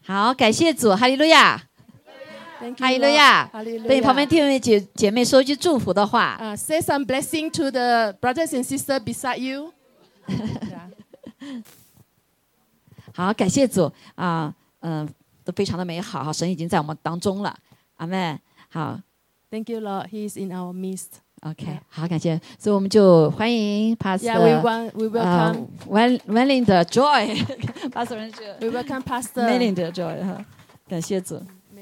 好，感谢主，哈利路亚，哈利路亚。对你旁边弟兄姐妹说一句祝福的话。 Say some blessing to the brothers and sisters beside you. 好，感谢主都非常的美好，神已经在我们当中了，阿们。好 ，Thank you, Lord. He is in our midst. OK， 好，感谢，所以我们就欢迎 Pastor。 we welcome. Melinda Joy， Pastor We welcome Pastor Melinda Joy 哈，感谢主。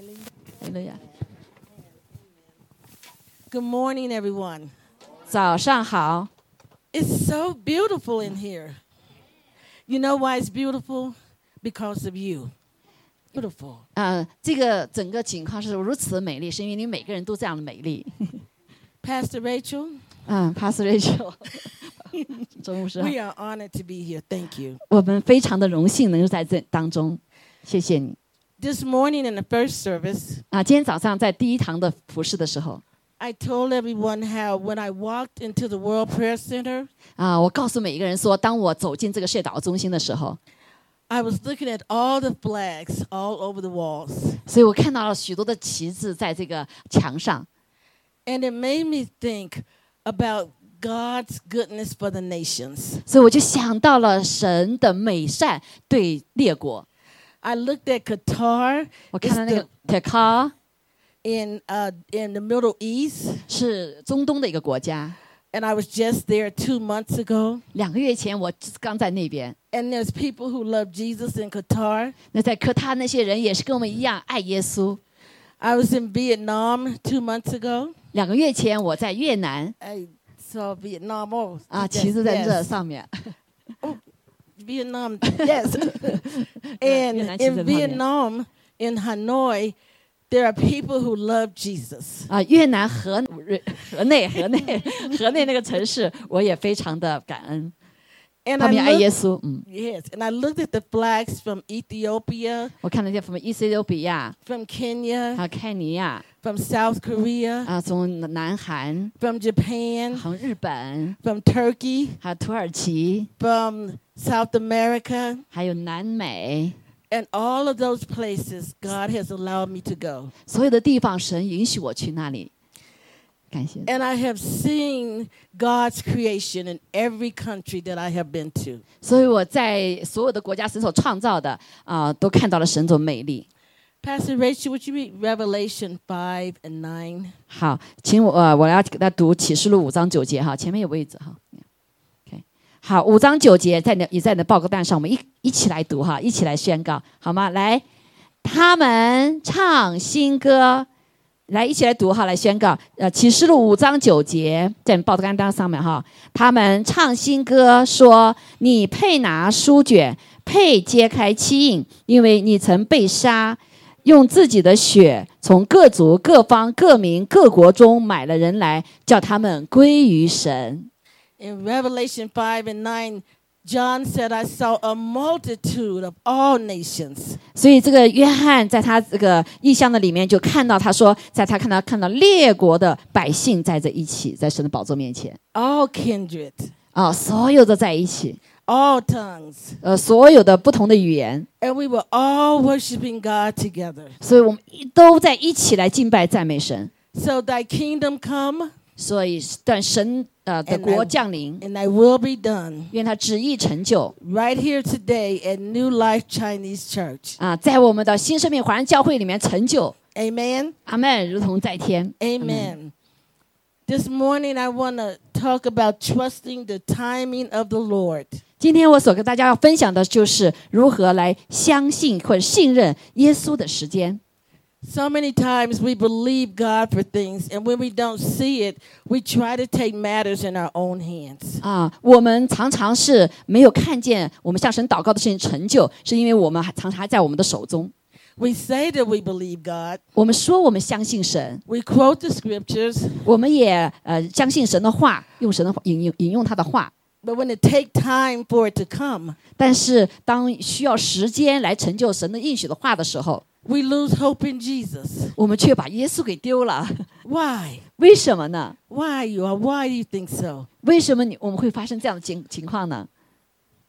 Good morning, everyone. 早上好。 It's so beautiful in here. You know why it's beautiful? Because of you. Beautiful. 这个整个情况是如此的美丽，是因为你每个人都这样的美丽。 Pastor Rachel. Pastor Rachel. 周牧师。 We are honored to be here. Thank you. 我们非常的荣幸能够在这当中，谢谢你。 This morning in the first service. 今天早上在第一堂的服事的时候。 I told everyone how when I walked into the World Prayer Center. 我告诉每一个人说，当我走进这个世界祷告中心的时候。 I was looking at all the flags all over the walls. 所以我看到了许多的旗帜在这个墙上。 And it made me think about God's goodness for the nations. 所以我就想到了神的美善对列国。 I looked at Qatar. 我看到那个 Qatar in the Middle East. 是中东的一个国家。 And I was just there 2 months ago. 2个月前我刚在那边。 And there's people who love Jesus in Qatar. 那在科他那些人也是跟我们一样爱耶稣。 I was in Vietnam 2 months ago. 2个月前我在越南。 I saw Vietnam. 旗子在这上面。 Vietnam, yes. And in Vietnam, in Hanoi, there are people who love Jesus. 越南河内那个城市，我也非常的感恩。他们爱耶稣。 Yes, and I looked at the flags from Ethiopia. 我看了些from 伊索比亚 from Kenya. 还有肯尼亚 from South Korea. 从南韩 from Japan. 从日本 from Turkey. 还有土耳其 from South America. 还有南美。 And all of those places, God has allowed me to go. 所有的地方，神允许我去那里。感谢。 And I have seen God's creation in every country that I have been to. 所以我在所有的国家神所创造的都看到了神的美丽。 Pastor Rachel, would you read Revelation 5 and 9? 好，请我要给他读启示录5章9节哈，前面有位置哈。好，5章9节也在你的报告单上，我们一起来读哈，一起来宣告，好吗？来，他们唱新歌，来一起来读哈，来宣告。启示录5章9节在你报告单上面哈，他们唱新歌说：“你配拿书卷，配揭开七印，因为你曾被杀，用自己的血从各族、各方、各民、各国中买了人来，叫他们归于神。” In Revelation 5 and 9, John said, I saw a multitude of all nations. 所以这个约翰在他这个异象的里面就看到，他说，在他看到列国的百姓在这一起，在神的宝座面前。 All kindred. 所有的在一起。 All tongues. 所有的不同的语言。 And we were all worshiping God together. 所以我们都在一起来敬拜赞美神。 So thy kingdom come. 所以但神的国降临 and thy will be done. 愿他旨意成就 Right here today at New Life Chinese Church. 在我们的新生命华人教会里面成就 Amen. 阿们，如同在天 Amen. This morning I want to talk about trusting the timing of the Lord. 今天我所跟大家要分享的就是如何来相信或者信任耶稣的时间。 So many times we believe God for things, and when we don't see it, we try to take matters in our own hands. 我们常常是没有看见我们向神祷告的事情成就，是因为我们常常还在我们的手中。 We say that we believe God. 我们说我们相信神。 We quote the scriptures. 我们也相信神的话，用神的引用他的话。 But when it take time for it to come, 但是当需要时间来成就神的应许的话的时候。 We lose hope in Jesus. 我们却把耶稣给丢了。 Why? 为什么呢？ Why do you think so? 为什么我们会发生这样的情况呢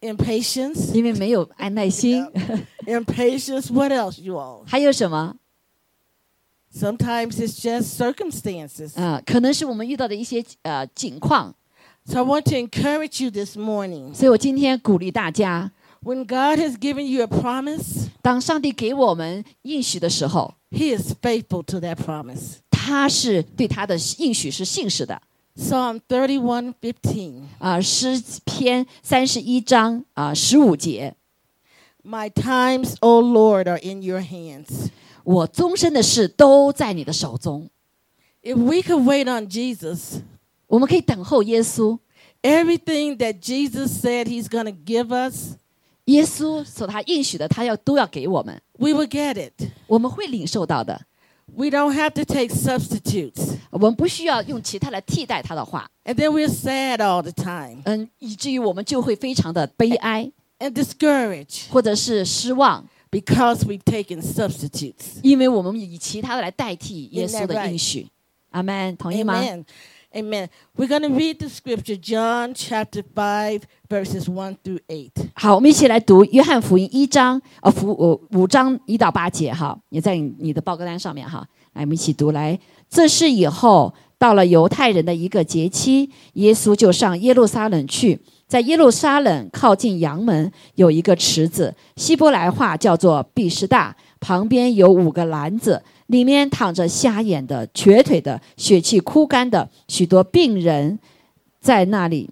Impatience. 因为没有耐心。 Impatience. What else, you all? 还有什么？ Sometimes it's just circumstances. 可能是我们遇到的一些境况。 So I want to encourage you this morning. 所以我今天鼓励大家， When God has given you a promise, 当上帝给我们应许的时候， He is faithful to that promise. 他是对他的应许是信实的。 Psalm 31:15. 诗篇31章15节， My times, O Lord, are in your hands. 我终身的事都在你的手中。 If we could wait on Jesus, 我们可以等候耶稣， everything that Jesus said He's going to give us, 耶稣所他应许的，他都要给我们， we will get it. 我们会领受到的。 We don't have to take substitutes. 我们不需要用其他来替代他的话， And then we're sad all the time 以至于我们就会非常的悲哀， and discouraged 或者是失望， because we've taken substitutes. 因为我们以其他的来代替耶稣的应许。阿门，同意吗？ Amen. Amen. We're going to read the scripture, John chapter 5, verses 1 through 8. 好，我们一起来读约翰福音5章1到8节哈，也在你的报告单上面哈。来，我们一起读。来，这事以后，到了犹太人的一个节期，耶稣就上耶路撒冷去。在耶路撒冷靠近阳门有一个池子，希伯来话叫做毕士大，旁边有5个篮子，里面躺着瞎眼的、瘸腿的、血气枯干的许多病人，在那里。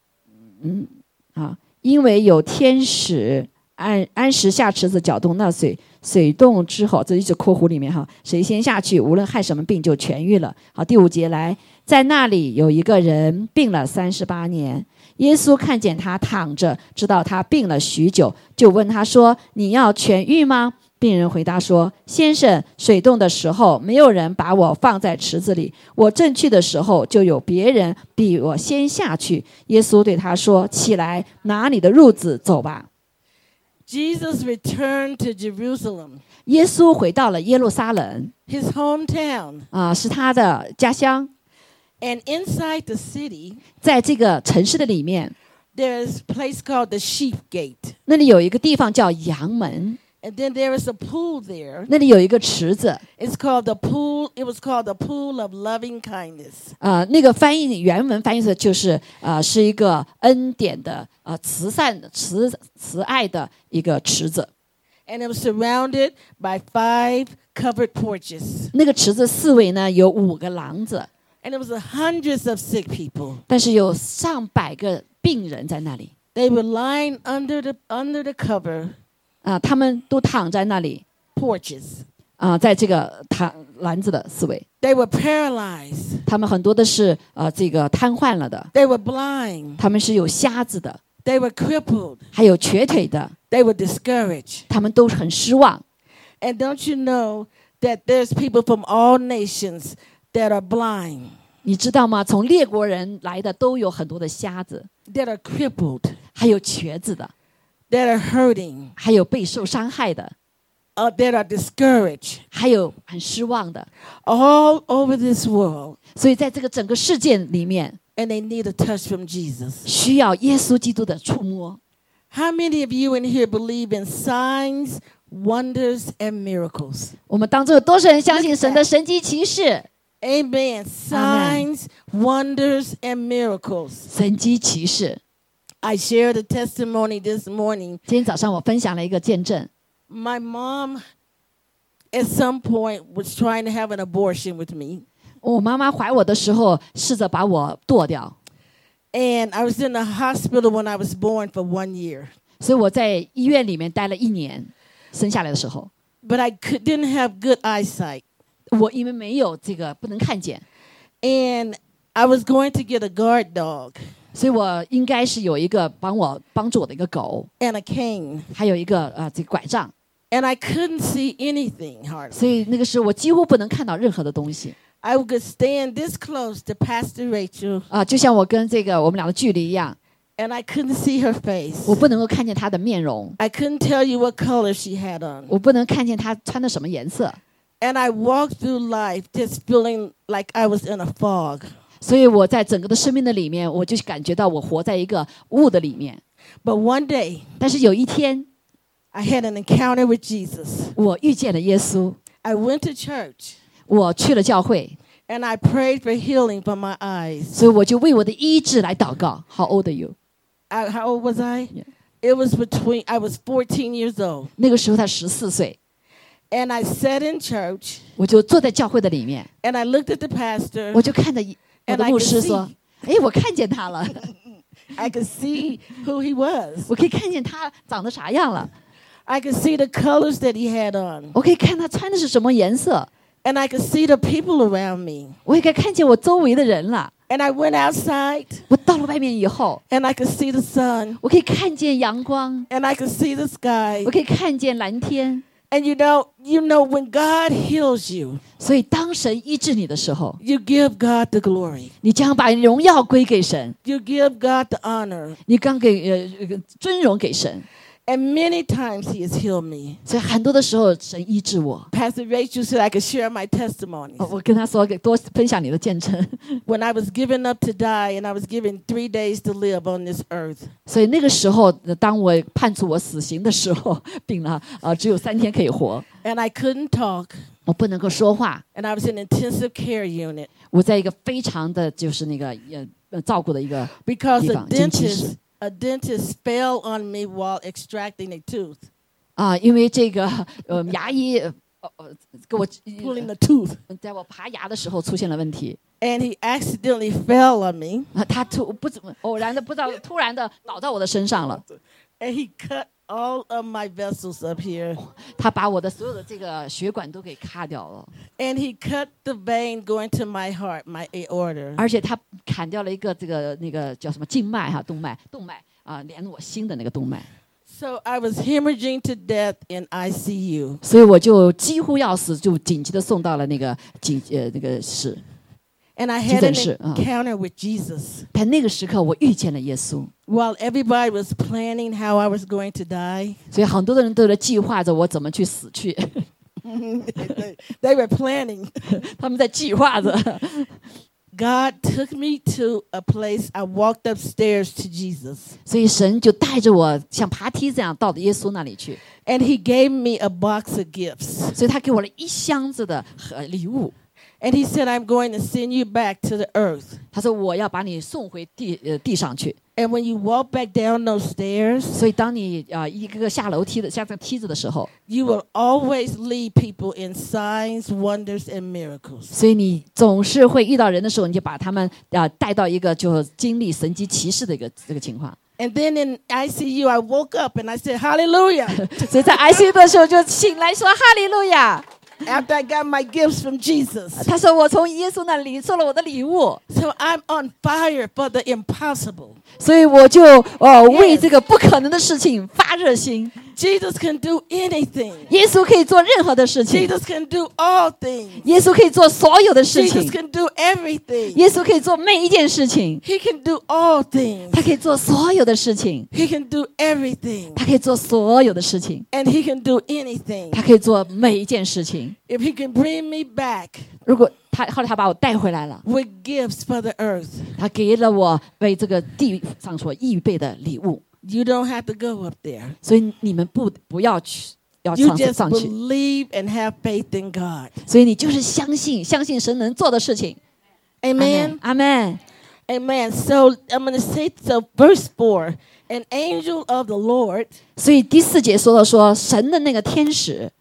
因为有天使按时下池子搅动那水动之后，这一直括弧里面哈，谁先下去，无论害什么病就痊愈了。好，第5节来，在那里有一个人病了38年，耶稣看见他躺着，知道他病了许久，就问他说：“你要痊愈吗？”病人回答说：“先生，水动的时候，没有人把我放在池子里，我正去的时候，就有别人比我先下去。”耶稣对他说：“起来，拿你的褥子走吧。” Jesus returned to Jerusalem, 耶稣回到了耶路撒冷， his hometown. 是他的家乡。 And inside the city, 在这个城市的里面， there is a place called the Sheep Gate. 那里有一个地方叫羊门， And then there is a pool there. 那里有一个池子。 It's called the pool. It was called the pool of loving kindness. 那个原文翻译的就是是一个恩典的慈爱的一个池子。 And it was surrounded by 5 covered porches. 那个池子4围呢有5个廊子， And it was hundreds of sick people. 但是有上百个病人在那里。 They were lying under the cover 他们都躺在那里 porches. 在这个篮子的4围。 They were paralyzed. 他们很多的是这个瘫痪了的， They were blind. 他们是有瞎子的， They were crippled. 还有瘸腿的， They were discouraged. 他们都很失望。 And don't you know that there's people from all nations that are blind, 你知道吗？从列国人来的都有很多的瞎子， that are crippled, 还有瘸子的， that are hurting, 还有被受伤害的， that are discouraged, 还有很失望的。 all over this world. 所以在这个整个世界里面， And they need a touch from Jesus. 需要耶稣基督的触摸。 How many of you in here believe in signs, wonders, and miracles? 我们当中有多少人相信神的神迹奇事？ Amen. Signs, wonders, and miracles. 神迹奇事。 I shared a testimony this morning. 今天早上我分享了一个见证。 My mom, at some point, was trying to have an abortion with me. 我妈妈怀我的时候，试着把我剁掉， And I was in the hospital when I was born for 1 year. 所以我在医院里面待了1年。生下来的时候， But I didn't have good eyesight. 我因为没有这个不能看见， And I was going to get a guard dog 所以我应该是有一个帮助我的一个狗， and a cane. 还有一个这个拐杖， And I couldn't see anything hardly. 所以那个时候我几乎不能看到任何的东西 I could stand this close to Pastor Rachel, 就像我跟我们俩的距离一样， and I couldn't see her face. 我不能够看见她的面容， I couldn't tell you what color she had on. 我不能看见她穿的什么颜色， And I walked through life just feeling like I was in a fog. 所以我在整个的生命的里面，我就感觉到我活在一个雾的里面。 But one day, 但是有一天， I had an encounter with Jesus. 我遇见了耶稣， I went to church 我去了教会， and I prayed for healing for my eyes. 所以我就为我的医治来祷告。How old are you？ How old was I? Yeah. It was I was 14 years old. 那个时候他14岁， And I sat in church 我就坐在教会的里面， and I looked at the pastor. 我就看着我的 And I 牧 could 师说 see.：“ 哎，我看见他了， I could see who he was. 我可以看见他长得啥样了， I could see the colors that he had on. 我可以看他穿的是什么颜色， And I could see the people around me. 我也可以看见我周围的人了。 And I went outside 我到了外面以后， and I could see the sun 我可以看见阳光， and I could see the sky. 我可以看见蓝天。 And you know when God heals you, 所以，当神医治你的时候， you give God the glory. 你将把荣耀归给神， You give God the honor. 你刚给尊荣给神。 And many times he has healed me. 所以很多的时候，神医治我。 Pastor Rachel said I could share my testimonies. 我跟他说，多分享你的见证。 When I was given up to die and I was given 3 days to live on this earth. 所以那个时候，当我判处我死刑的时候，病了，只有3天可以活， And I couldn't talk. 我不能够说话， And I was in intensive care unit 我在一个非常的就是那个照顾的一个 because 地方，经期室。 a dentist fell on me while extracting a tooth. 因为这个牙医给我 Pulling the tooth. 在我拔牙的时候出现了问题。 And he accidentally fell on me. 他偶然的不知道突然的倒到我的身上了， And he cut all of my vessels up here. 他把我的所有的这个血管都给卡掉了， And he cut the vein going to my heart, my aorta. 而且他砍掉了一个那个叫什么静脉动脉连我心的那个动脉， So I was hemorrhaging to death in ICU. 所以我就几乎要死，就紧急的送到了那个那个室。 And I had an 急诊室， encounter with Jesus. 但那个时刻我遇见了耶稣， While everybody was planning how I was going to die, 所以很多的人都在计划着我怎么去死去， they were planning. 他们在计划着。 God took me to a place. I walked upstairs to Jesus. 所以神就带着我像爬梯子一样到耶稣那里去， And he gave me a box of gifts. 所以他给我了一箱子的礼物。 And he said, I'm going to send you back to the earth. 他说我要把你送回地上去。 And when you walk back down those stairs, 所以当你一个个下楼梯的下这个梯子的时候， you will always lead people in signs, wonders, and miracles. 所以你总是会遇到人的时候，你就把他们带到一个就经历神迹奇事的这个情况。 And then in ICU, I woke up and I said, Hallelujah. 所以在 ICU 的时候就醒来说哈利路亚。 After I got my gifts from Jesus. 他说我从耶稣那里收了我的礼物， So I'm on fire for the impossible. 所以我就为这个不可能的事情发热心。 Jesus can do anything. 耶稣可以做任何的事情， Jesus can do all things. 耶稣可以做所有的事 Jesus 情， can do everything. 耶稣可以做每一件事情， He can do all things. 他可以做所有的事情， He can do everything. 他可以做所有的事情， And he can do anything. 他可以做每一件事情。 If he can bring me back 如果后来他把我带回来了， with gifts for the earth, 他给了我为这个地上所预备的礼物， you don't have to go up there. 所以你们不要去，要 You just 上去， believe and have faith in God. 所以你就是相信神能做的事情。 Amen. 阿门。 Amen. So I'm going to say, so verse 4, an angel of the Lord 所以第4节说到说神的那个天使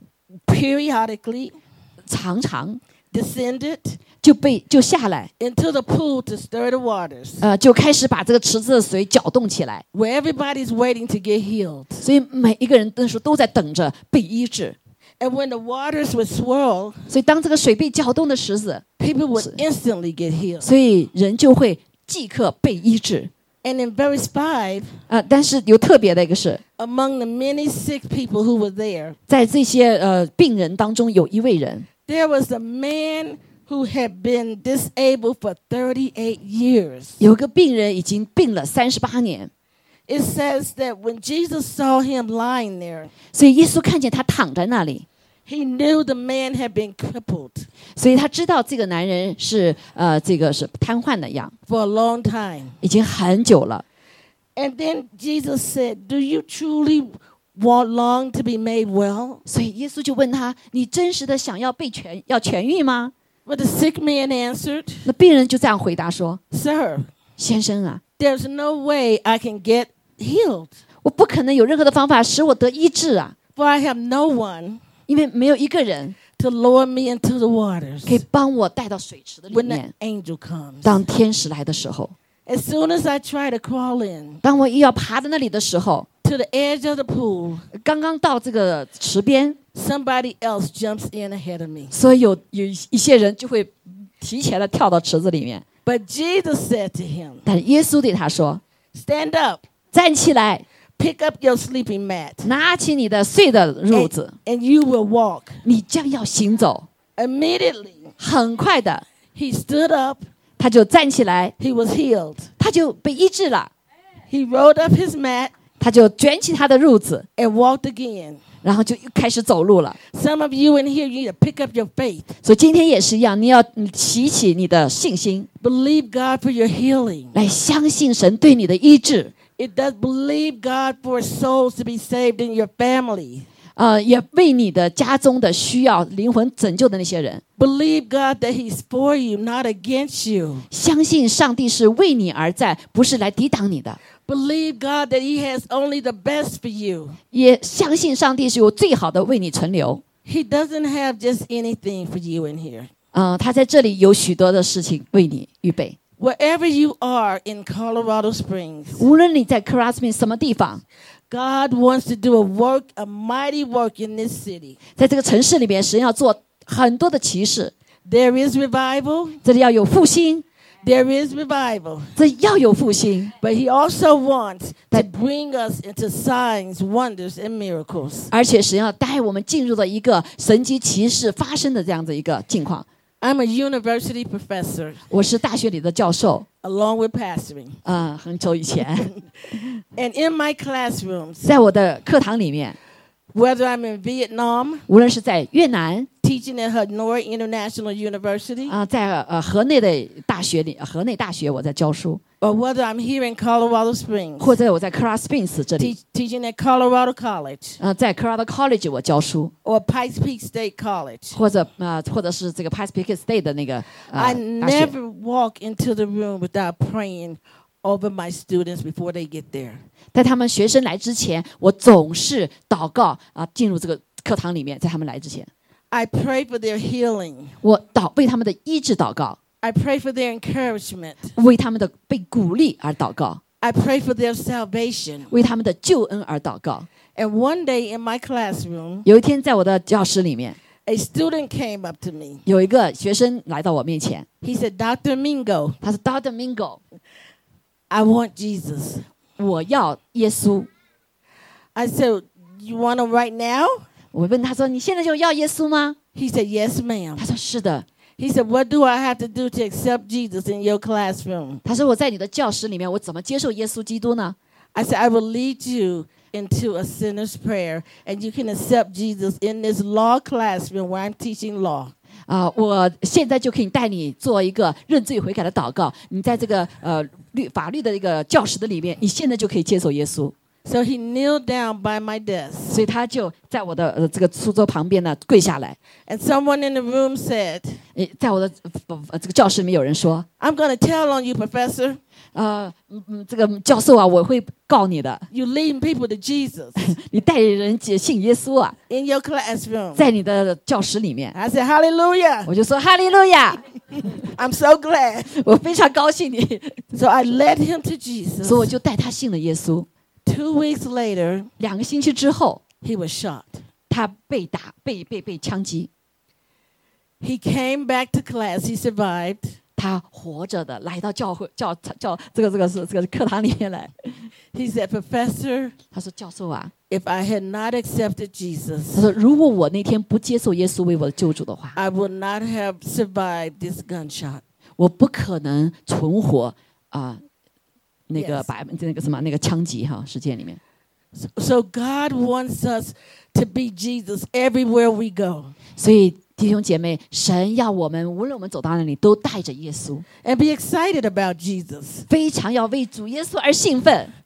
periodically 常常 descended 就下来， into the pool to stir the waters, 就开始把这个池子的水搅动起来， where everybody's waiting to get healed. 所以每一个人那时候都在等着被医治。 And when the waters would swirl, 所以当这个水被搅动的时候， people would instantly get healed. 所以人就会即刻被医治。 And in verse 5, 但是有特别的一个是， among the many sick people who were there, 在这些病人当中有一位人， there was a man who had been disabled for 38 years. 有个病人已经病了38年， It says that when Jesus saw him lying there, 所以耶稣看见他躺在那里， he knew the man had been crippled 所以他知道这个男人是这个是瘫痪的样， for a long time. 已经很久了。 And then Jesus said, "Do you truly long to be made well?" 所以耶稣就问他：“你真实的想要痊愈吗 But the sick man answered,？” 那病人就这样回答说 "Sir, 先生啊， there's no way I can get healed, 我不可能有任何的方法使我得医治啊， for I have no one 因为没有一个人 to lower me into the waters 可以帮我带到水池的里 when the 面。 angel comes. 当天使来的时候， As soon as I try to crawl in 当我一要爬到那里的时候， to the edge of the pool, 刚刚到这个池边， somebody else jumps in ahead of me. 所以有一些人就会提前的跳到池子里面。 But Jesus said to him, 但耶稣对他说 "Stand up, 站起来， pick up your sleeping mat, 拿起你的睡的褥子， and you will walk." 你将要行走。 Immediately, 很快的， he stood up, 他就站起来， he was healed. 他就被医治了。 He rolled up his mat 他就卷起他的褥子， and walked again. 然后就又开始走路了。 Some of you in here, you need to pick up your faith. 所以今天也是一样，你要提起你的信心， Believe God for your healing. 来相信神对你的医治。 It does believe God for souls to be saved in your family. 也为你的家中的需要灵魂拯救的那些人， Believe God that He's for you, not against you. 相信上帝是为你而在，不是来抵挡你的。 Believe God that He has only the best for you. 也相信上帝是有最好的为你存留。 He doesn't have just anything for you in here. 他在这里有许多的事情为你预备。 Wherever you are in Colorado Springs, 无论你在 Crosby 什么地方， God wants to do a work, a mighty work in this city. 在这个城市里面，神要做很多的奇事。 There is revival. 这里要有复兴， There is revival. 这要有复兴。 But He also wants to bring us into signs, wonders, and miracles. 而且神要带我们进入了一个神迹奇事发生的这样的一个境况。 I'm a university professor 我是大学里的教授， along with pastoring. 很久以前， And in my classrooms, 在我的课堂里面， whether I'm in Vietnam, 无论是在越南 teaching at Hanoi International University, 在河内的大学里，河内大学我在教书， or whether I'm here in Colorado Springs, 或者我在 Colorado Springs 这里， teaching at Colorado College, 在 Colorado College 我教书， or Pikes Peak State College. 或者是这个 Pikes Peak State 的那个 I 大学。 never walk into the room without praying over my students before they get there. 在他们学生来之前，我总是祷告进入这个课堂里面，在他们来之前， I pray for their healing. 我为他们的医治祷告， I pray for their encouragement. 为他们的被鼓励而祷告， I pray for their salvation. 为他们的救恩而祷告。 And one day in my classroom, 有一天，在我的教室里面， a student came up to me. 有一个学生来到我面前， He said, "Dr. Mingo, 他说 ：“Dr. Mingo， I want Jesus." 我要耶稣。 I said, "You want him right now?" ” 我问他说：“你现在就要耶稣吗 He said, "Yes, ma'am." 他说：“是的。 He said, "What do I have to do to accept Jesus in your classroom?" ” 他说：“我在你的教室里面，我怎么接受耶稣基督呢 I said, "I will lead you into a sinner's prayer, and you can accept Jesus in this law classroom where I'm teaching law." 我现在就可以带你做一个认罪悔改的祷告。你在这个法律的一个教室的里面，你现在就可以接受耶稣。” So he kneeled down by my desk. 所以他就在我的这个书桌旁边呢跪下来。 And someone in the room said, 在我的这个教室里面有人说 "I'm going to tell on you, Professor. 这个教授啊，我会告你的， You leading people to Jesus 你带人信耶稣啊， in your classroom." 在你的教室里面。 I said, "Hallelujah. 我就说哈利路亚， I'm so glad." 我非常高兴你， So I led him to Jesus. 所以我就带他信了耶稣。 2 weeks later, 2个星期之后， he was shot. 他被打，被枪击， He came back to class. He survived. 他活着的来到教这个课堂里面来。 He said, "Professor, 他说教授啊， if I had not accepted 他 Jesus, 说如果我那天不接受耶稣为我的救主的话， I would not have survived this gunshot." 我不可能存活那个 Yes. 那个枪击事件里面。 So God wants us to be Jesus everywhere we go 所以弟兄姐妹，神要我们无论我们走到哪里，都带着耶稣， and be excited about Jesus. 非常要为主耶稣而兴奋。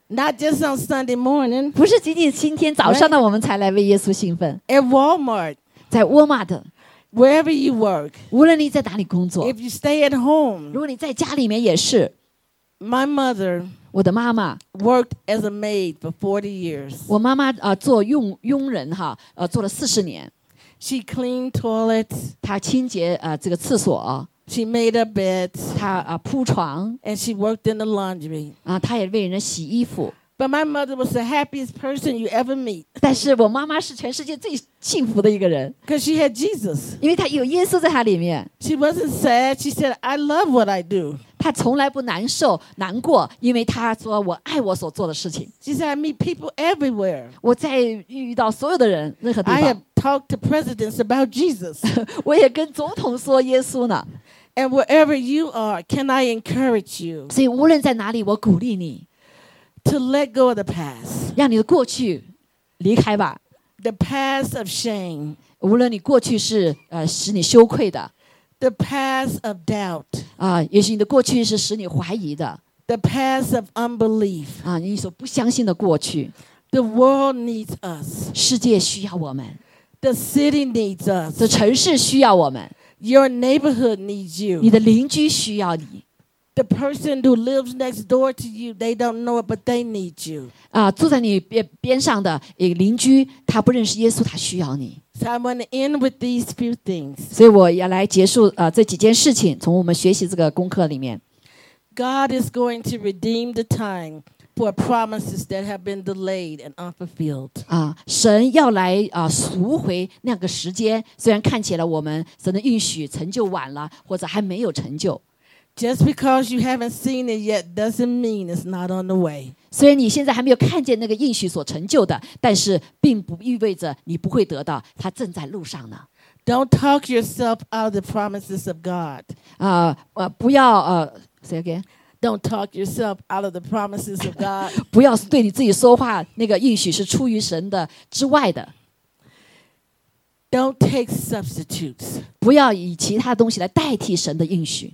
Not just on Sunday morning. 不是仅仅今天早上呢我们才来为耶稣兴奋， At Walmart, 在沃尔玛的， wherever you work, 无论你在哪里工作， if you stay at home. 如果你在家里面也是。 My mother 我的妈妈， worked as a maid for 40 years. 我妈妈做佣人哈，做了40年， She cleaned toilets, 她清洁这个厕所， she made up beds, 她铺床 and she worked in the laundry. 她也为人洗衣服。 But my mother was the happiest person you ever meet 但是我妈妈是全世界最幸福的一个人， because she had Jesus. 因为她有耶稣在她里面， She wasn't sad. She said, I love what I do. 她从来不难受难过，因为她说我爱我所做的事情。 She said, I meet people everywhere. 我在遇到所有的人，任何地 I 方 have，talked to presidents about Jesus. 我也跟总统说耶稣呢。 And wherever you are, can I encourage you 所以无论在哪里，我鼓励你， to let go of the past, 让你的过去离开吧。 the past of shame, 无论你过去是使你羞愧的 the past of doubt, 也许你的过去是使你怀疑的 the past of unbelief. 你所不相信的过去。 The world needs us. 世界需要我们， The city needs 这 us. 城市需要我们， Your neighborhood needs 你 you. 的邻居需要你 The person who lives next door to you, they don't know it, but they need you. 住在你边上的一个邻居，他不认识耶稣，他需要你。 So I want to end with these few things. 所以我要来结束这几件事情，从我们学习这个功课里面。 God is going to redeem the time for promises that have been delayed and unfulfilled. 神要来赎回那个时间，虽然看起来我们神的应许成就晚了，或者还没有成就。 Just because you haven't seen it yet doesn't mean it's not on the way. 虽然你现在还没有看见那个应许所成就的，但是并不意味着你不会得到，它正在路上呢。 Don't talk yourself out of the promises of God. 不要say again， Don't talk yourself out of the promises of God. 不要对你自己说话，那个应许是出于神的之外的， Don't take substitutes. 不要以其他东西来代替神的应许。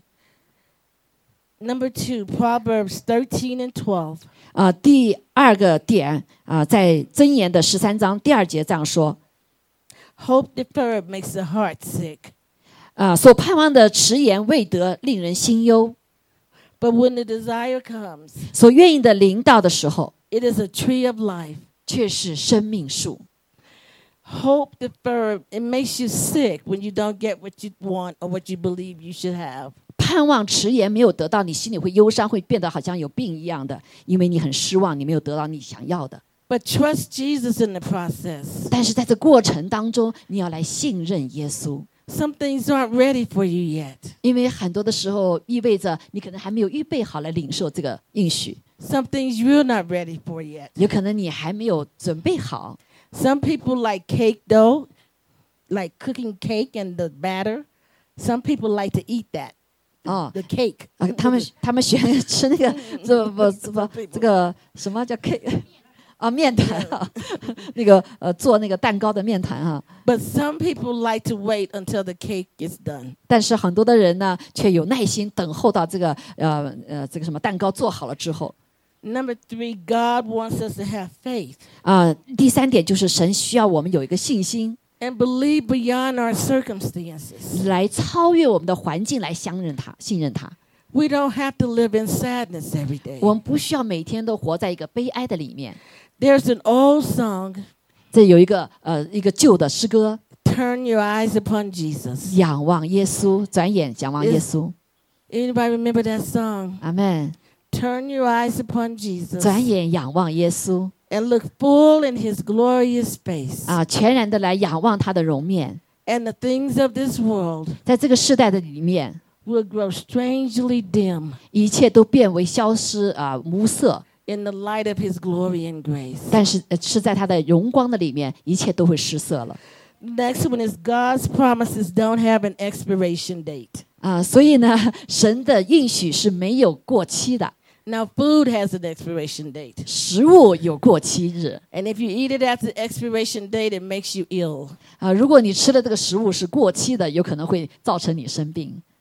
Number 2, Proverbs 13 and 12. 第二个点在箴言的13章第2节这样说。 Hope deferred makes the heart sick. 所盼望的迟延未得，令人心忧。 But when the desire comes, 所愿意的临到的时候， it is a tree of life. 却是生命树。 Hope deferred, it makes you sick when you don't get what you want or what you believe you should have. 盼望迟延没有得到，你心里会忧伤，会变得好像有病一样的，因为你很失望，你没有得到你想要的。 But trust Jesus in the process. 但是在这过程当中，你要来信任耶稣， Some things aren't ready for you yet. 因为很多的时候意味着你可能还没有预备好来领受这个应许， Some things you're not ready for yet. 有可能你还没有准备好。 Some people like cake dough, like cooking cake and the batter. Some people like to eat that. 哦 The cake. 他们喜欢吃那个这个什么叫 cake 面团那个做那个蛋糕的面团 But some people like to wait until the cake is done. 但是很多的人呢，却有耐心等候到这个这个什么蛋糕做好了之后。 Number 3, God wants us to have faith 第3点就是神需要我们有一个信心， and believe beyond our circumstances. 来超越我们的环境，来信任他。 We don't have to live in sadness every day. 我们不需要每天都活在一个悲哀的里面。 There's an old song, 这有一个旧的诗歌， Turn your eyes upon Jesus. 仰望耶稣，转眼仰望耶稣。 Anybody remember that song? 阿们。 Turn your eyes upon Jesus 转眼仰望耶稣 and look full in his glorious face. 全然的来仰望他的容面。 And the things of this world 在这个世代的里面， will grow strangely dim 一切都变为消失无色。 in the light of his glory and grace. 但是是在他的荣光的里面，一切都会失色了。 Next one is God's promises don't have an expiration date. 所以呢，神的应许是没有过期的。 Now, food has an expiration date. 食物有过期日 And if you eat it after the expiration date, it makes you ill. 如果你吃的这个食物是过期的，有可能会造成你生病。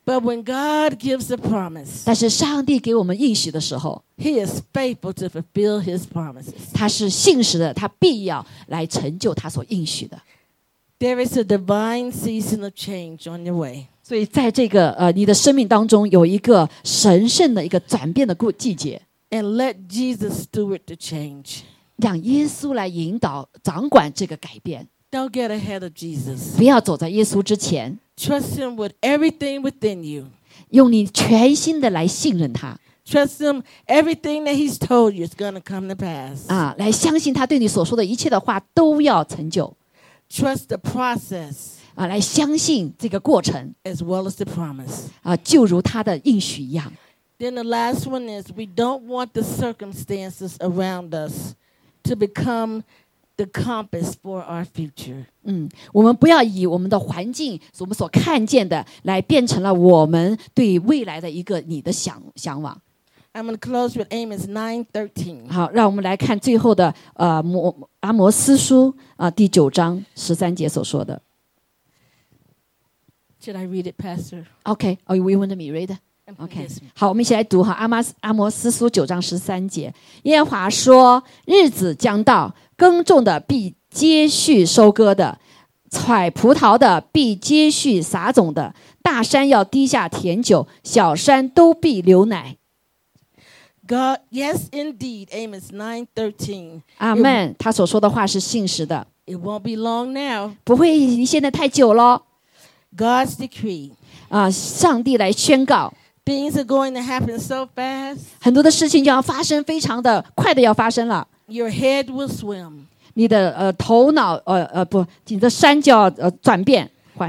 But when God gives a promise, 但是上帝给我们应许的时候， He is faithful to fulfill His promises. 他是信实的，他必要来成就他所应许的。 There is a divine season of change on your way. 所以在这个你的生命当中有一个神圣的一个转变的季节， And let Jesus steward the change. 让耶稣来引导掌管这个改变， Don't get ahead of Jesus. 不要走在耶稣之前， Trust Him with everything within you. 用你全心的来信任他 Trust Him, everything that He's told you is going to come to pass. 啊，来相信他对你所说的一切的话都要成就 Trust the process 啊，来相信这个过程 as well as the promise. 啊，就如他的应许一样。 Then the last one is we don't want the circumstances around us to become the compass for our future. 我们不要以我们的环境，我们所看见的，来变成了我们对未来的一个你的向往。 I'm going to close with Amos 9:13. 好，让我们来看最后的阿摩斯书第9章13节所说的。 Should I read it, Pastor? OK， 哦，you want me read? OK， Yes. 好，我们一起来读哈。阿摩斯书9章13节，耶和华说：日子将到，耕种的必接续收割的，采葡萄的必接续撒种的。大山要滴下甜酒，小山都必流奶。 God, yes, indeed, Amos 9:13. 阿们。他所说的话是信实的， It won't be long now. 不会离现在太久了 God's decree. 啊！上帝来宣告， Things are going to happen so fast. 很多的事情就要发生，非常的快的要发生了。 Your head will swim. 你的头脑不，你的山就要转变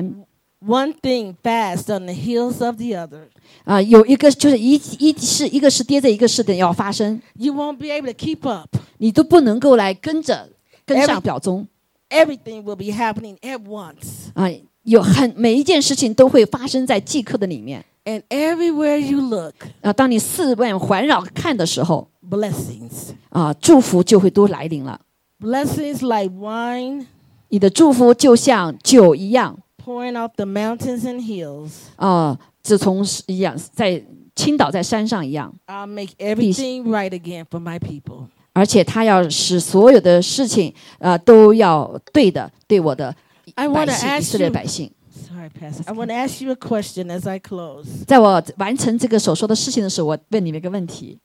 One thing fast on the heels of the other. 有一个就是一个是接着一个事的要发生， You won't be able to keep up. 你都不能够来跟上表中 Everything will be happening at once. 啊！每一件事情都会发生在即刻的里面 And everywhere you look, 啊！当你四面环绕看的时候 blessings. 啊，祝福就会都来临了。 Blessings like wine 你的祝福就像酒一样 pouring off the mountains and hills. 啊，自从一样在倾倒在山上一样， I'll make everything right again for my people. 而且他要使所有的事情都要对的，对我的 I 百 want to 姓以 ask 色列 you. 百姓。 Sorry, Pastor. I want to ask you a question as I close. 在我完成这个所说的事情的时候，我问你们一个问题：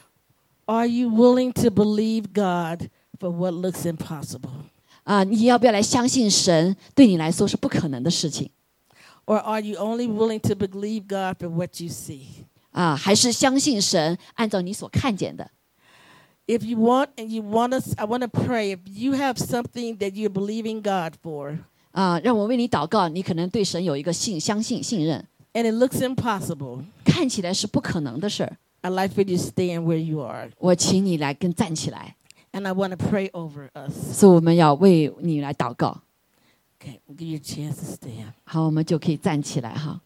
Are you willing to believe God for what looks impossible? 你要不要来相信神对你来说是不可能的事情 Or are you only willing to believe God for what you see? 还是相信神按照你所看见的 If you want and you want us, I want to pray. If you have something that you're believing God for, 让我为你祷告，你可能对神有一个相信、信任， and it looks impossible, 看起来是不可能的事儿， I'd like for you to stand where you are. 我请你来站起来， And I want to pray over us. 所以我们要为你来祷告。 Okay, we'll give you a chance to stand. 好，我们就可以站起来哈。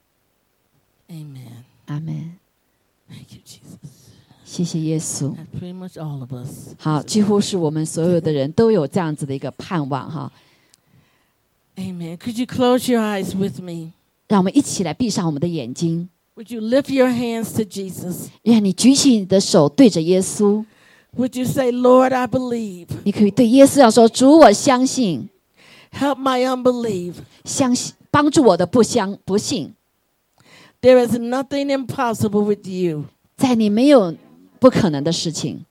Amen. 阿门。 Thank you, Jesus. 谢谢耶稣。 That's pretty much all of us. 好，几乎是我们所有的人都有这样子的一个盼望哈。 Amen. Could you close your eyes with me? 让我们一起来闭上我们的眼睛， Would you lift your hands to Jesus? 让你举起你的手对着耶稣， Would you say, Lord, I believe. 你可以对耶稣要说：主，我相信， Help my unbelief. 相信帮助我的不信， There is nothing impossible with you. 在你没有不可能的事情。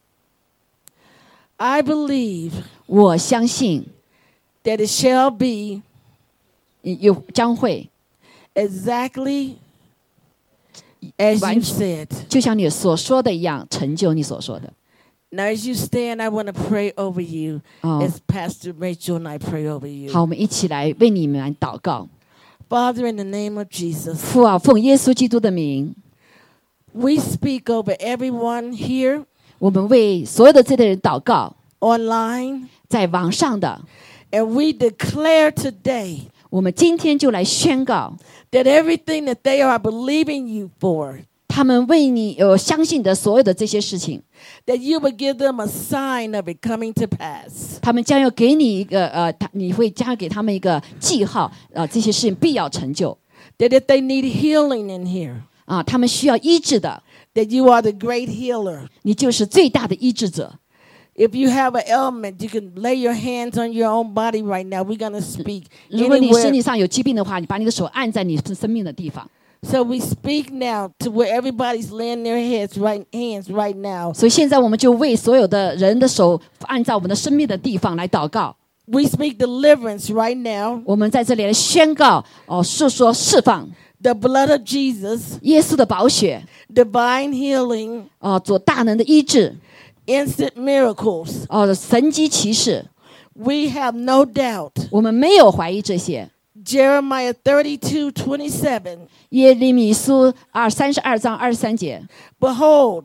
I believe 我相信 that it shall be 将会 exactly as you said. 就像你所说的一样，成就你所说的。 Now, as you stand, I want to pray over you as Pastor Rachel and I pray over you. 好，我们一起来为你们来祷告。 Father, in the name of Jesus, 父啊，奉耶稣基督的名， we speak over everyone here, 我们为所有的这类人祷告， online, 在网上的， and we declare today 我们今天就来宣告， that everything that they are believing you for, 他们为你相信的所有的这些事情， that you will give them a sign of it coming to pass. 他们将要给你一个你会将要给他们一个记号，这些事情必要成就。 that if they need healing in here, 啊，他们需要医治的， that you are the great healer. 你就是最大的医治者。 If you have an ailment, you can lay your hands on your own body right now. We're going to speak 如果你身体 anywhere. 上有疾病的话，你把你的手按在你生命的地方。 So we speak now to where everybody's laying their hands right now. 所以现在我们就为所有的人的手按照我们的生命的地方来祷告。 We speak deliverance right now. 我们在这里来宣告述说释放 The blood of Jesus, 耶稣的宝血 divine healing, 做大能的医治 instant miracles. 神迹奇事， We have no doubt. 我们没有怀疑这些。 Jeremiah 32:27. 耶利米书32章23节 Behold,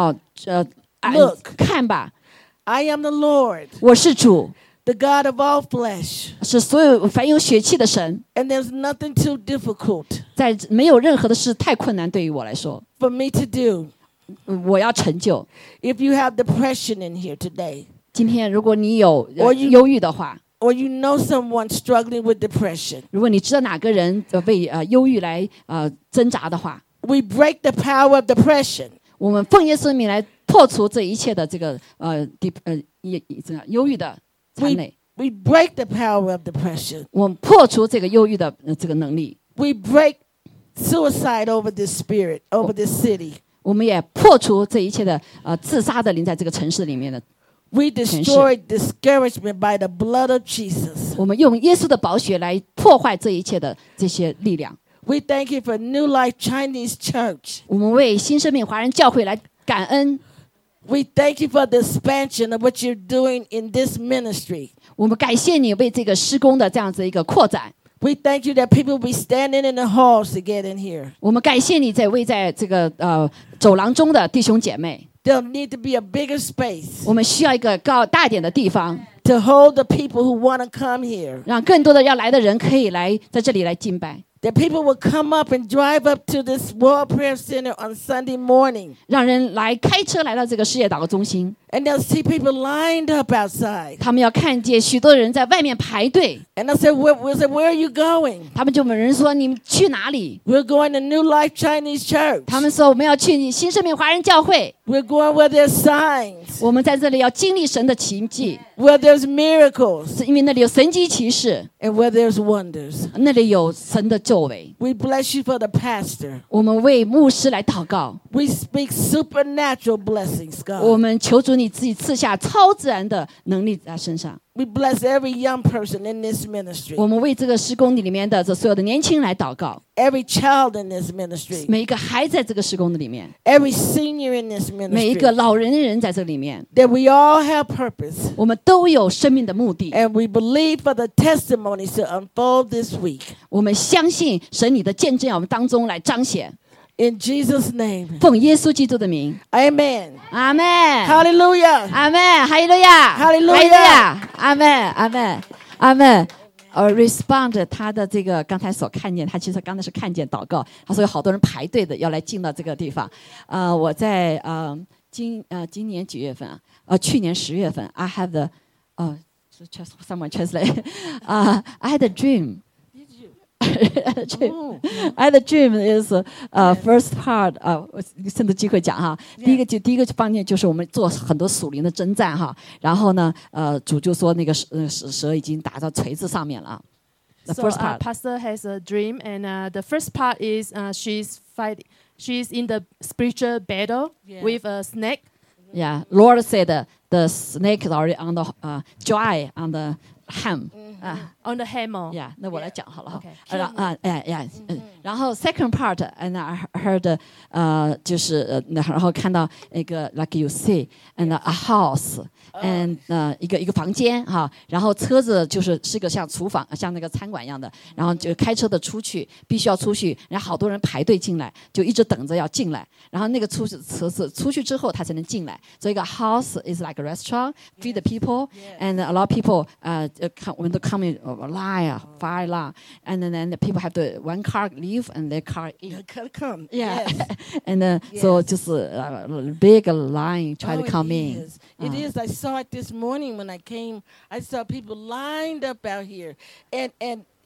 看吧， I am the Lord, 我是主， the God of all flesh, 是所有凡有血气的神， and there's nothing too difficult 在没有任何的事太困难对于我来说， for me to do. 我要成就。 If you have depression in here today, 今天如果你有我忧郁的话， or you know someone struggling with depression, 如果你知道哪个人为忧郁来挣扎的话， we break the power of depression. 我们奉耶稣的名来破除这一切的这个忧郁的残累， We break the power of depression. 我们破除这个忧郁的这个能力， We break suicide over this spirit, over this city. 我们也破除这一切的自杀的灵在这个城市里面的。 We destroy discouragement by the blood of Jesus. 我们用耶稣的宝血来破坏这一切的这些力量。 We thank you for New Life Chinese Church. 我们为新生命华人教会来感恩。 We thank you for the expansion of what you're doing in this ministry. 我们感谢你为这个施工的这样子一个扩展。 We thank you that people will be standing in the halls to get in here. 我们感谢你在这个走廊中的弟兄姐妹。 There'll need to be a bigger space 我们需要一个大点的地方， to hold the people who want to come here. 让更多的要来的人可以来在这里来敬拜， That people will come up and drive up to this World Prayer Center on Sunday morning. 让人来开车来到这个世界祷告中心， And they'll see people lined up outside. 他们要看见许多人在外面排队， And they'll say, where are you going? 他们就问人说你们去哪里？ We're going to New Life Chinese Church. 他们说我们要去新生命华人教会， We're going where there's signs, 我们在这里要经历神的奇迹， where there's miracles, 是因为那里有神迹奇事， and where there's wonders. 那里有神的作为。 We bless you for the pastor. 我们为牧师来祷告， We speak supernatural blessings, 我 God. 们求主你自己赐下超自然的能力在身上。 We bless every young person in this ministry, 我们为这个施工里面的这所有的年轻人来祷告， every child in this ministry, 每一个孩子在这个施工的里面， every senior in this 每一个 ministry, 老人在这里面， that we all have purpose. 我们都有生命的目的。 And we believe for the testimonies to unfold this week. 我们相信神你的见证要我们当中来彰显， In Jesus' name, 奉耶稣基督的名， amen. 阿门， Hallelujah. 阿门，哈利路亚， 哈利路亚哈利路亚，阿门，阿门，阿门。respond 他的这个刚才所看见，他其实刚才是看见祷告，他说有好多人排队的要来进到这个地方。我在今年几月份啊？去年10月份 ，I have the someone translate I had a dream. I had a dream is first part 趁着机会讲哈，第一个方面就是我们做很多属灵的征战哈，然后呢主就说那个蛇已经打到锤子上面了。The So first part. Pastor has a dream, and the first part is she's fighting. She's in the spiritual battle with a snake. Yeah, Lord said the snake is already on the dry on the ham. On the hammer. Yeah, 那我来讲好了哈。 Okay. 然后 second part, and I heard 就是然后看到一个 like you see and a house and 一个房间哈，然后车子是个像厨房像那个餐馆一样的，然后就开车的出去，必须要出去，然后好多人排队进来，就一直等着要进来，然后那个车子出去之后他才能进来，所以一个 house is like a restaurant, feed the people, and a lot of people when they come in line, fire line, and then the people have to one car leave and their car in. Come. Yeah, Yes. and so 就是big line try to Oh, come it in. is. It is. I saw it this morning when I came. I saw people lined up out here, and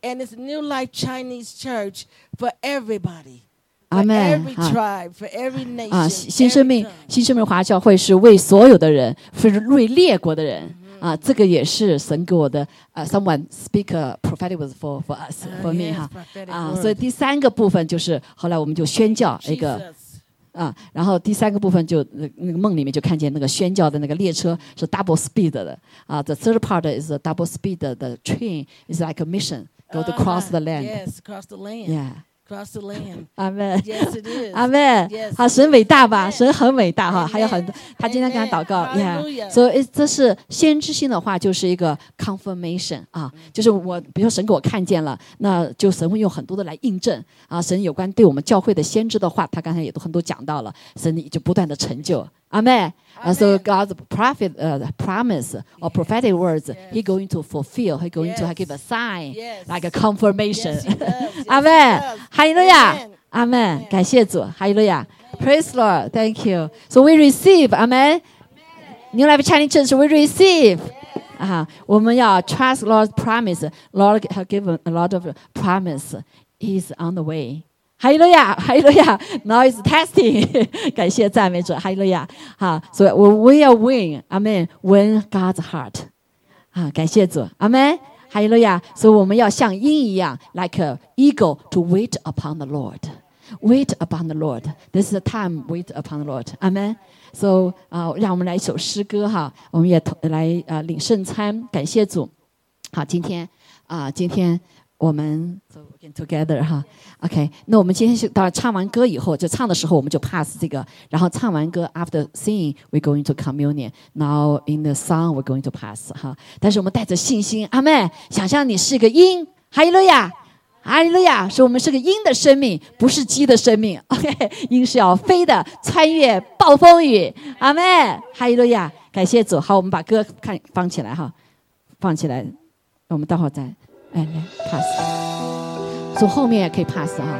And it's New Life Chinese Church for everybody. For Amen. every tribe, for every nation. 啊，新生 every 命 tongue. 新生命华教会是为所有的人，是为列国的人。啊，这个也是神给我的。someone speak a prophetic words for us for me 哈。啊，所以第三个部分就是后来我们就宣教一个。 Jesus. 啊，然后第三个部分就那个梦里面就看见那个宣教的那个列车是 double speed 的啊。The third part is a double speed. The train is like a mission go to cross the land. Yes, across the land. Yeah. Across the land. 阿门。 Yes, it is. 阿门。 Yes. 好，神伟大吧？ Amen. 神很伟大哈， Amen. 还有很多。他今天跟他祷告 Amen. ，Yeah。 Hallelujah. 所以这是先知性的话，就是一个 confirmation 啊，就是我比如说神给我看见了，那就神会用很多的来印证啊。神有关对我们教会的先知的话，他刚才也都很多讲到了，神就不断的成就。阿门。So God's prophet promise or prophetic words, He going to fulfill. He going to give a sign, Yes. like a confirmation. Yes, he does. Yes, 阿 he 门 does.， 哈利路亚 Amen.， 阿门，感谢主，哈利路亚 ，Praise Lord，Thank you。So we receive，阿门。New Life Chinese Church we receive。啊，我们要 trust Lord's promise。Lord have given a lot of promise. He's on the way。哈利路亚，哈利路亚 ，Now is testing 。感谢赞美主，哈利路亚。好，所以we are win，阿门 ，win God's heart。啊，感谢主，阿门。哈利路亚！所以我们要像鹰一样 ，like a eagle to wait upon the Lord, wait upon the Lord. This is the time wait upon the Lord. Amen. So 让我们来一首诗歌哈，我们也来领圣餐，感谢主。好，今天我们 so again together 哈 ，OK。那我们今天是到唱完歌以后，就唱的时候我们就 pass 这个，然后唱完歌 after singing we're going to communion. Now in the song we're going to pass 哈。但是我们带着信心，阿们，想象你是个鹰，哈利路亚，哈利路亚，说我们是个鹰的生命，不是鸡的生命。OK， 鹰是要飞的，穿越暴风雨，阿们，哈利路亚，感谢主。好，我们把歌放起来哈，放起来，我们待会儿再。来 pass， 从后面也可以 pass 哈，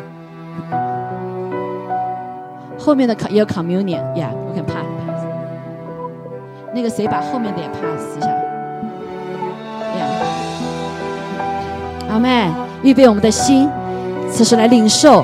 后面的也有 communion，yeah， 我可以 pass。那个谁把后面的也 pass 一下 ，yeah。阿们，预备我们的心，此时来领受。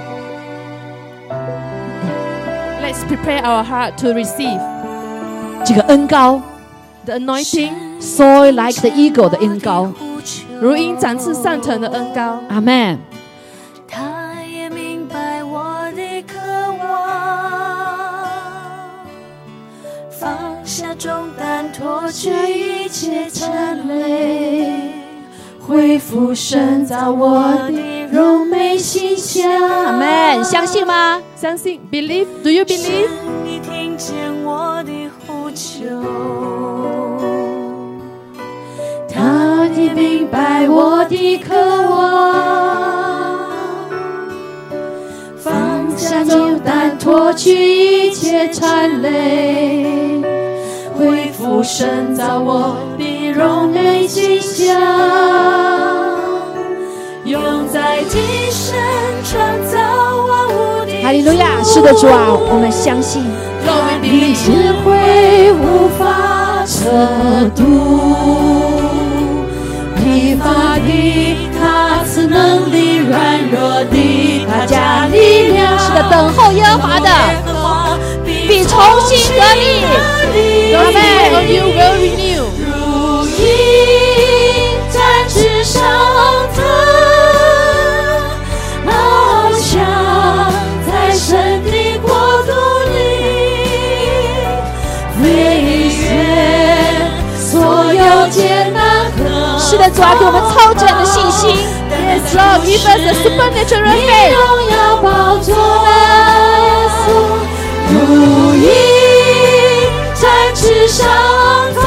Let's prepare our heart to receive 这个恩膏 the anointing， ，soar like the eagle 的恩膏。 如鹰展翅上腾的恩膏。 阿们。 他也明白我的渴望，放下重担，脱去一切尘累，恢复深造我的柔美形象。 阿们，相信吗？ 相信 ，believe， Do you believe？ 你听见我的呼求。他也明白我的渴望，放下重担，脱去一切缠累，恢复深造我的柔美形象，用在今生创造万物的哈利路亚！是的，主啊，我们相信。 你智慧无法测度。疲乏的他赐能力，软弱的他加力量。 是的，等候耶和华的必重新得力。 阿门。You will renew。 如鹰展翅上腾，翱翔在神的国度里，飞越所有艰难。 是的，主啊，给我们超自然的信心。 Yes, Lord, give us a supernatural 你 faith。 荣耀宝座的耶稣，如鹰展翅上腾，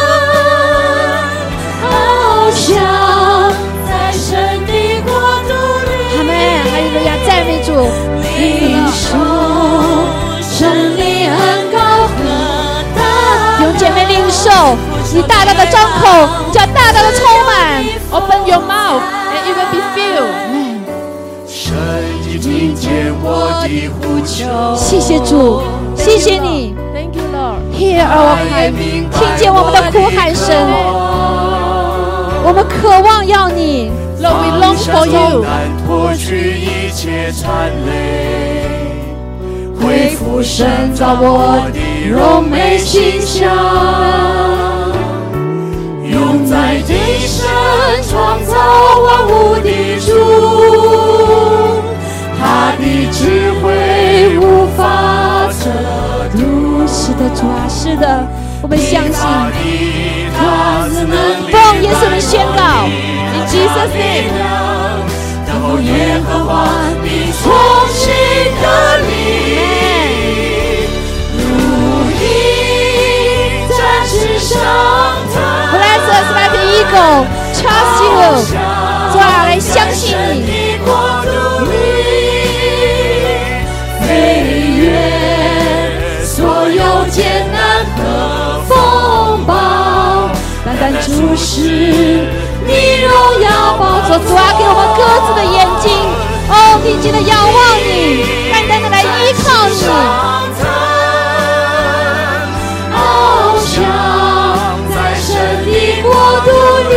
翱翔在神的国度里。 阿们，哈利路亚，赞美主。 领受神的恩膏和大弟兄姐妹领受，你大大的张口，叫大大的充满。 Open your mouth and it will be filled。 神已听见我的呼求， 谢谢主，谢谢你 Thank you, Lord。 ，Hear our cry，听见我们的哭喊声。我们渴望要你， Lord, we long for you. 脱去一切缠累， 恢复神造我的荣美形象，永在地上创造万物的主，他的智慧无法测度。 是的，主啊，是的，我们相信。 他自能奉耶稣的宣告 ，In Jesus' name。 等候耶和华你从新的力，如鹰展翅上腾。 Bless us like an eagle, trust you。主啊，来相信你。 国度里飞越所有艰难和风暴，单单注视你荣耀宝座。 主啊，给我们各自的眼睛，定睛的仰望你，单单的来依靠你。 翱翔在神的国度里，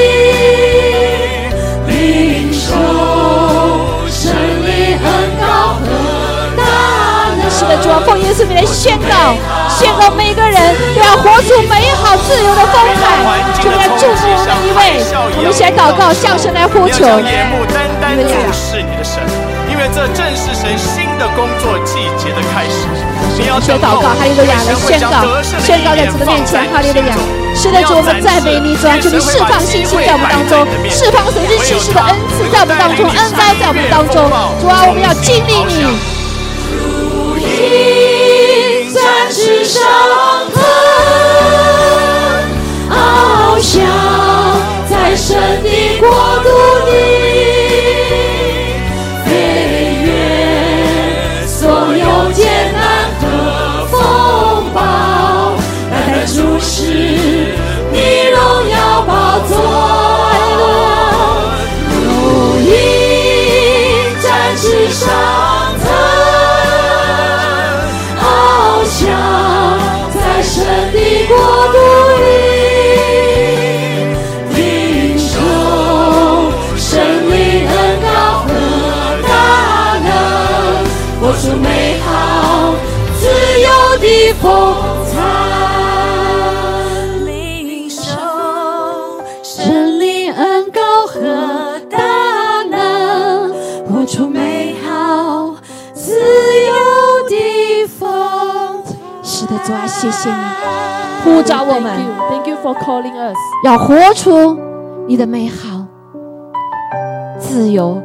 领受神灵恩膏和大能。 是的，主啊，奉耶稣名来宣告每个人都要活出美好自由的风采。主来祝福我们每一位，我们一起来祷告，向神来呼求。 眼目单单注视你的神，因为这正是神新的工作季节的开始。你要宣祷告，哈利路亚！来宣告在主的面前，哈利路亚！是的，主，我们赞美你，主啊，求你释放信心在我们当中，释放神之启示的恩赐在我们当中，恩膏在我们当中。主啊，我们要经历你。 如鹰展翅上腾，翱翔在神的国度里，飞越所有艰难和风暴，单单注视你荣耀宝座。如鹰展翅上腾，翱翔在神的国度里，领受神灵恩膏和大能，活出美好自由的风采。领受神灵恩膏和大能，活出美好自由的风采。 是的，主啊，谢谢你呼召我们， Thank you for calling us 要活出你的美好、自由，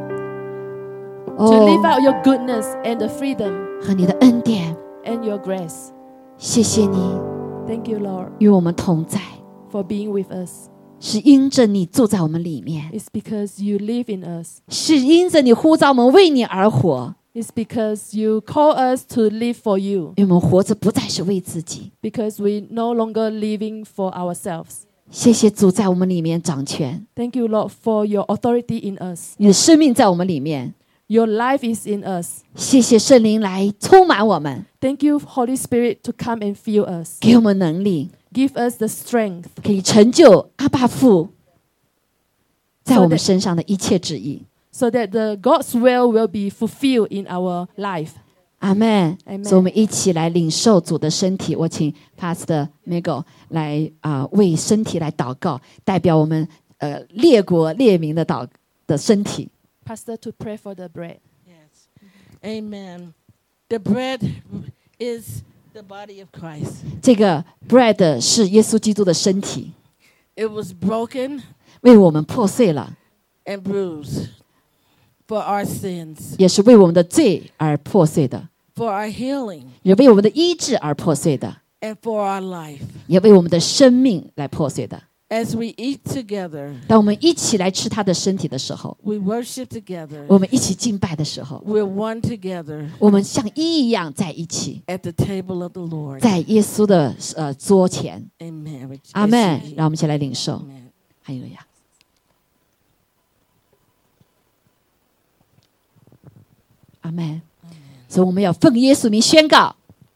to live out your goodness and the freedom 和你的恩典。 and your grace. 谢谢你 Thank you, Lord, 与我们同在， for being with us. 是因着你住在我们里面， It's because you live in us. 是因着你呼召我们为你而活， It's because you call us to live for you. 因为我们活着不再是为自己。 Because we no longer living for ourselves. 谢谢主在我们里面掌权， Thank you, Lord, for your authority in us. 你的生命在我们里面。 Your life is in us. 谢谢圣灵来充满我们， Thank you, Holy Spirit, to come and fill us. 给我们能力， Give us the strength 可以成就阿爸父在我们身上的一切旨意。 so that the God's will be fulfilled in our life. 阿们。 Amen 所以我们一起来领受主的身体。我请 Pastor Miguel 来为身体来祷告，代表我们列国列民的身体。 Pastor, to pray for the bread. Yes. Amen. The bread is the body of Christ. 这个 bread 是耶稣基督的身体， It was broken 为我们破碎了， and bruised for our sins, 也是为我们的罪而破碎的， for our healing, 也为我们的医治而破碎的， and for our life. 也为我们的生命来破碎的。 As we eat together, 当我们一起来吃他的身体的时候， we worship together, 我们一起敬拜的时候， we're one together 我们像一样在一起， at the table of the Lord. 在耶稣的桌前。 Amen. 阿们。让我们一起来领受。 Amen. 哈利路亚。阿们。所以我们要奉耶稣名宣告，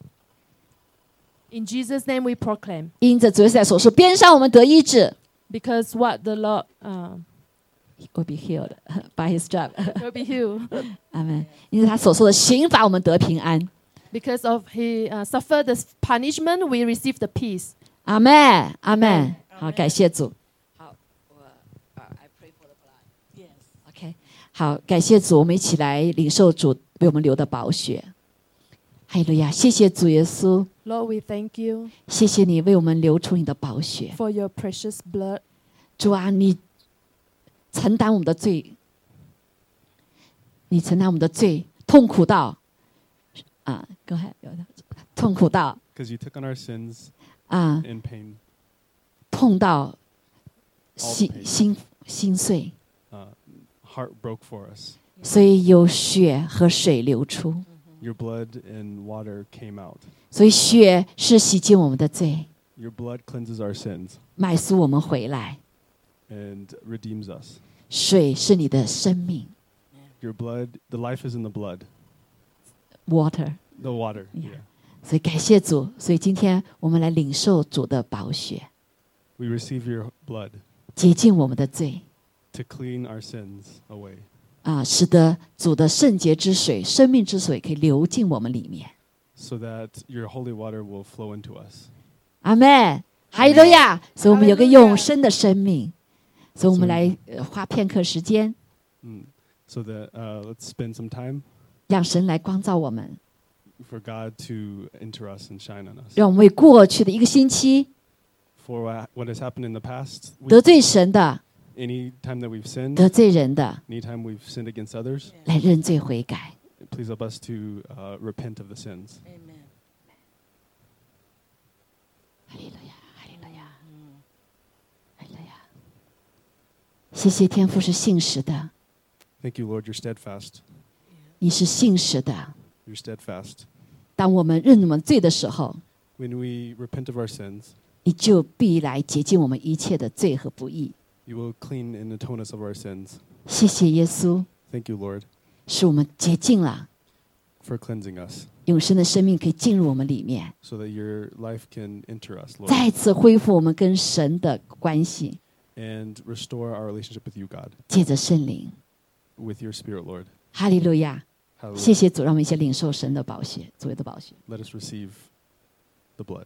In Jesus' name we proclaim. 因着主耶稣在所说边上我们得医治。 Because what the Lord will be healed by His job. will be healed. 阿门。因为他所受的刑罚，我们得平安。 Because of he suffered the punishment, we receive the peace. 阿门，阿门。好，感谢主。好，I pray for the blood. Yes. OK， 好，感谢主，我们一起来领受主为我们流的宝血。哈利路亚！谢谢主耶稣， Lord, we thank you 谢谢你为我们流出你的宝血。 for your precious blood. 主啊，你承担我们的罪，你承担我们的罪，痛苦到go ahead， 痛苦到 Because you took on our sins ，in pain. 痛到 All pain. 心碎， Heart broke for us. 所以有血和水流出。 Your blood and water came out. 所以血是洗净我们的罪， Your blood cleanses our sins 买赎我们回来。 and redeems us. 水是你的生命 Your blood, the life is in the blood, ，water。 the water. Yeah. Yeah. 所以感谢主，所以今天我们来领受主的宝血， We receive your blood 洁净我们的罪。 to clean our sins away, 使得主的圣洁之水、生命之水可以流进我们里面。 so that your holy water will flow into us. 阿们，哈利路亚！所以我们有个永生的生命，所以我们来花片刻时间， So that let's spend some time 让神来光照我们， for God to enter us and shine on us. 让我们为过去的一个星期 For what has happened in the past, 得罪神的、 any time that we've sinned, 得罪人的， anytime we've sinned against others, 来认罪悔改。 please help us to repent of the sins. Amen. 哈利路亚，哈利路亚，哈利路亚！谢谢天父是信实的， Thank you, Lord, you're steadfast. 你是信实的。 You're steadfast. 当我们认我们罪的时候， When we repent of our sins, 你就必来洁净我们一切的罪和不义。 you will clean and atone us of our sins. 谢谢耶稣， Thank you, Lord, 使我们洁净了， for cleansing us 永生的生命可以进入我们里面， so that your life can enter us, Lord, 再次恢复我们跟神的关系， and restore our relationship with you, God, 借着圣灵。 with your Spirit, Lord. 哈利路亚！ Hallelujah. 谢谢主，让我们一起领受神的宝血，主的宝血。 Let us receive the blood.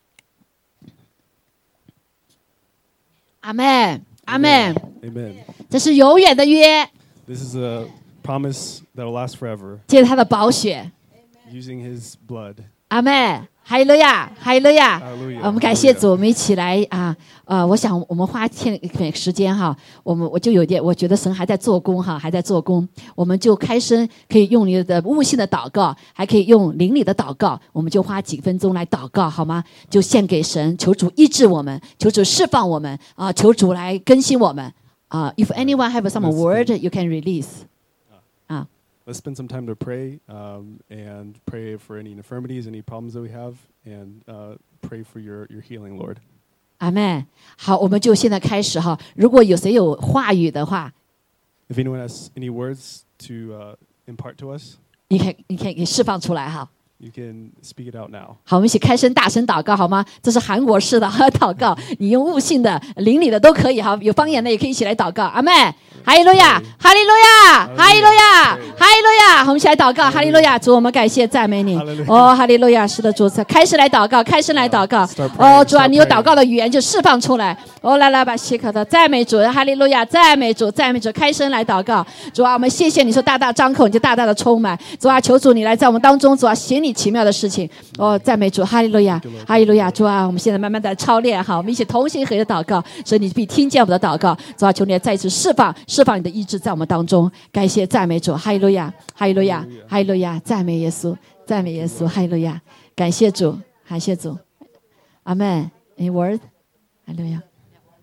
阿门，阿门。 Amen. 这是永远的约， This is a promise that will last forever, 借着他的宝血。 using his blood. 阿门，哈利路亚，哈利路亚。 Hallelujah. 我们感谢主，我们一起来我想我们花时间哈，我就有点，我觉得神还在做工哈，还在做工。我们就开声，可以用你的悟性的祷告，还可以用灵里的祷告，我们就花几分钟来祷告好吗？就献给神，求主医治我们，求主释放我们求主来更新我们If anyone have some word, you can release. Let's spend some time to pray and pray for any infirmities, any problems that we have, and pray for your healing, Lord. 阿们，好，我们就现在开始哈。如果有谁有话语的话， If anyone has any words to impart to us, 你可以释放出来哈。 you can speak it out now. 好，我们一起开声大声祷告好吗？这是韩国式的祷告，你用悟性的、灵里的都可以哈，有方言的也可以一起来祷告。阿们，哈利路亚，哈利路亚，哈利路亚，哈利路亚。我们一起来祷告，哈利路亚，主，我们感谢赞美你。哦，哈利路亚，是的，主，开始来祷告，开始来祷告。哦，主啊，你有祷告的语言就释放出来。哦，来吧，希可的赞美主，哈利路亚，赞美主，赞美主，开声来祷告。主啊，我们谢谢你说大大张口，你就大大的充满。主啊，求主你来在我们当中，主啊，行你奇妙的事情。哦，赞美主，哈利路亚，哈利路亚，主啊，我们现在慢慢的操练哈，我们一起同心合意的祷告，所以你必听见我们的祷告。主啊，求你再一次释放你的医治在我们当中。感谢赞美主，哈利路亚，哈利路亚，哈利路亚，赞美耶稣，赞美耶稣，哈利路亚，感谢主，感谢主，阿门。Any word？ 哈利路亚。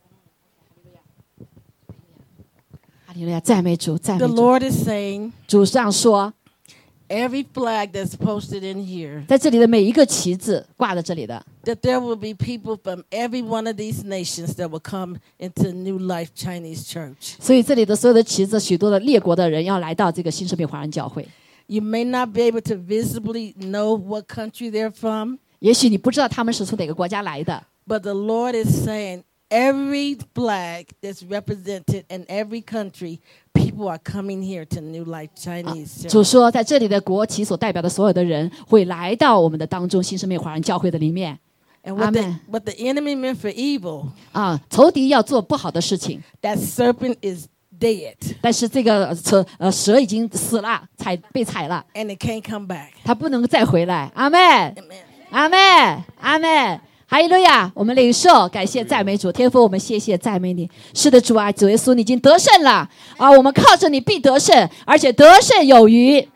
哈利路亚，赞美主，赞美 The 主。 Lord is saying, 主上说， every flag that's posted in here, 在这里的每一个旗子挂在这里的， that there will be people from every one of these nations that will come into New Life Chinese Church. 所以这里的所有的旗子，许多的列国的人要来到这个新生命华人教会。 You may not be able to visibly know what country they're from, 也许你不知道他们是从哪个国家来的， but the Lord is saying every flag that's represented in every country, people are coming here to New Life Chinese Church. 主说，在这里的国旗所代表的所有的人会来到我们的当中，新生命华人教会的里面。 And what Amen. the enemy meant for evil, 仇敌要做不好的事情， that serpent is dead, 但是这个蛇已经死了，被踩了， and it can't come back. 他不能再回来。阿门， Amen. 阿门，阿门。哈利路亚！我们领受，感谢赞美主，天父，我们谢谢赞美你。是的，主啊，主耶稣，你已经得胜了啊！我们靠着你必得胜，而且得胜有余。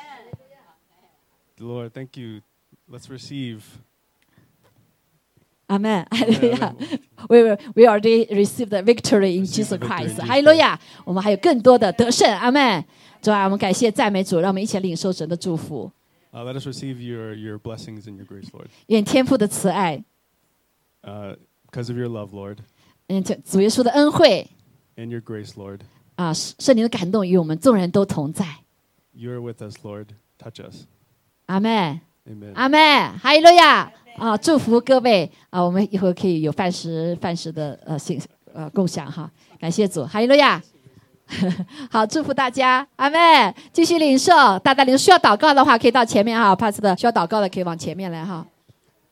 Lord, thank you. Let's receive. 阿门，哈利路亚。We already received the victory in Jesus Christ。哈利路亚！我们还有更多的得胜。阿门。主啊，我们感谢赞美主，让我们一起领受神的祝福。 Let us receive your blessings and your grace, Lord. 愿天父的慈爱， Because of your love, Lord, 主耶稣的恩惠 and your grace, Lord. 圣灵的感动与我们众人都同在。 You are with us, Lord. Touch us. 阿门， Amen. 阿门，哈利路亚！祝福各位我们一会儿可以有饭食的共享哈，感谢主，哈利路亚！好，祝福大家，阿门！继续领受，大领受，需要祷告的话可以到前面哈，帕斯的需要祷告的可以往前面来哈。